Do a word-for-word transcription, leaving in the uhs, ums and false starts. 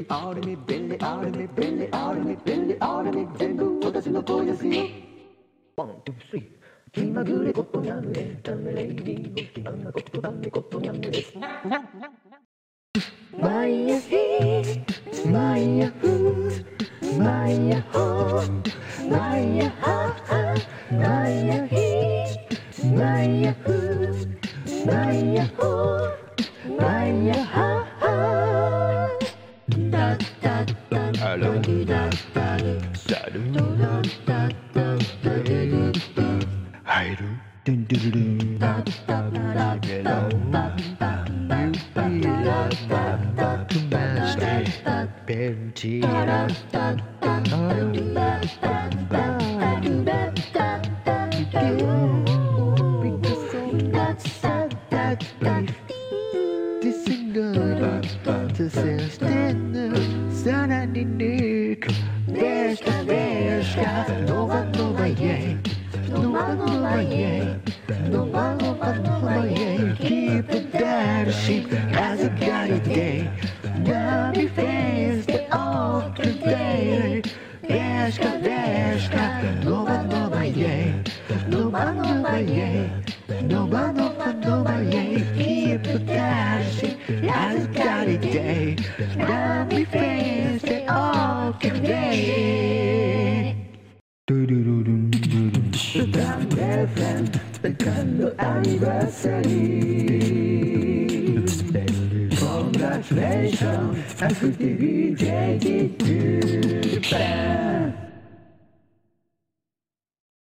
あるみ便利あるみ便利あるみ便利あるみ全部私の声ですよ。ワン、ツー、スリー。気まぐれことにゃんエンタメレイディオ気まぐれことだめことにゃんです。マイヤヒーマイヤフーマイヤホーマイヤハーマイヤヒーマイヤフーマイヤホーマイヤハーダッダッダッダッダッダッサルダッダッダッダッダッ入るドゥンドゥルルンダッダッダッダッダッダッユピラッダッダックマステベンチラッダッダッダッダッダッダッダッダッダッダッBecause that's that that's life This is good This is dinner さらに肉でしたでしたノバノバイェイNova, Nova, yeah. Nova, Nova, Nova, yeah. Keep it dancing as a guided day. Happy face the all today. Deska, deska. Nova, Nova, yeah. Nova, Nova, yeah. Nova, Nova, Nova, yeah. Keep it dancing as a guided day. Happy face the all today. Damn friend, the kind of anniversary. Congratulations, I'm fifty V J to Japan.